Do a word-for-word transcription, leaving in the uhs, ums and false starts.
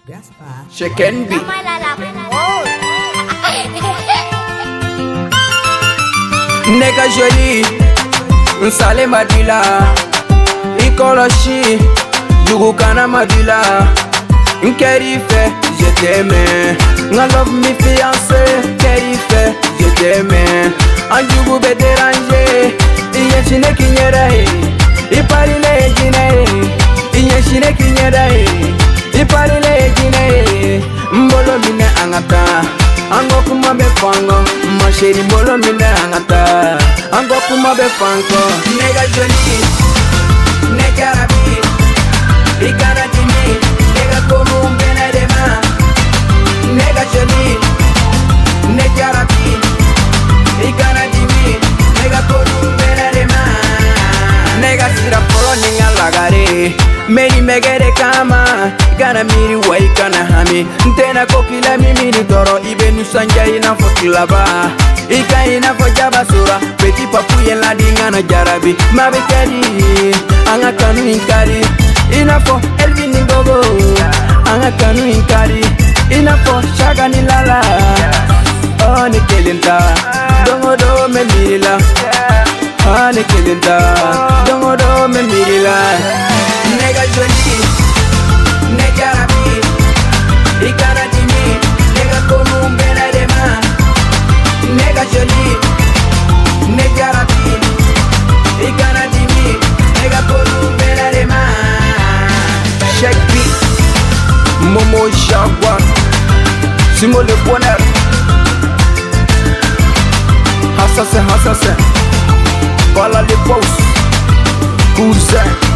Chicken B. Nega joli, nsale madila, ikoloshi, jugukana madila, nkerife, je t'aime, nga love me fiancé, kerife, je t'aime, anjugu be déranger, iye chine kinyere, iparile jine, iye chine kinyere, iparile jine, mbolo mine angata. Ango kuma be fango, ma chérie mbolo mine angata. Ango kuma be fango, nega joli, nega rabi, igana dimi, nega komu mbena dema. Nega joli, nega rabi, igana dimi, nega komu mbena dema. Nega sira polo ninga lagare, meni megere kama. Gana miri wai kana hami ntena kokila mimi ni doro ibe nusanja ina fotilaba ika ina fojaba sura peti papu yela dingana jarabi mabe kadi anga kanu inkari ina fo elvin ngogo anga kanu inkari ina fo shaga ni lala oh ne kelinta dongo do me mirila ah ne kelinta dongo do me mirila nega joli nega rabi, igana dimi, nega komu mbena dema. Nega joli, nega rabi, igana dimi, nega komu mbena dema. Check beat, Momo Jaguar, Simo le bonheur. Assassin, assassin, voilà les boss, cousin.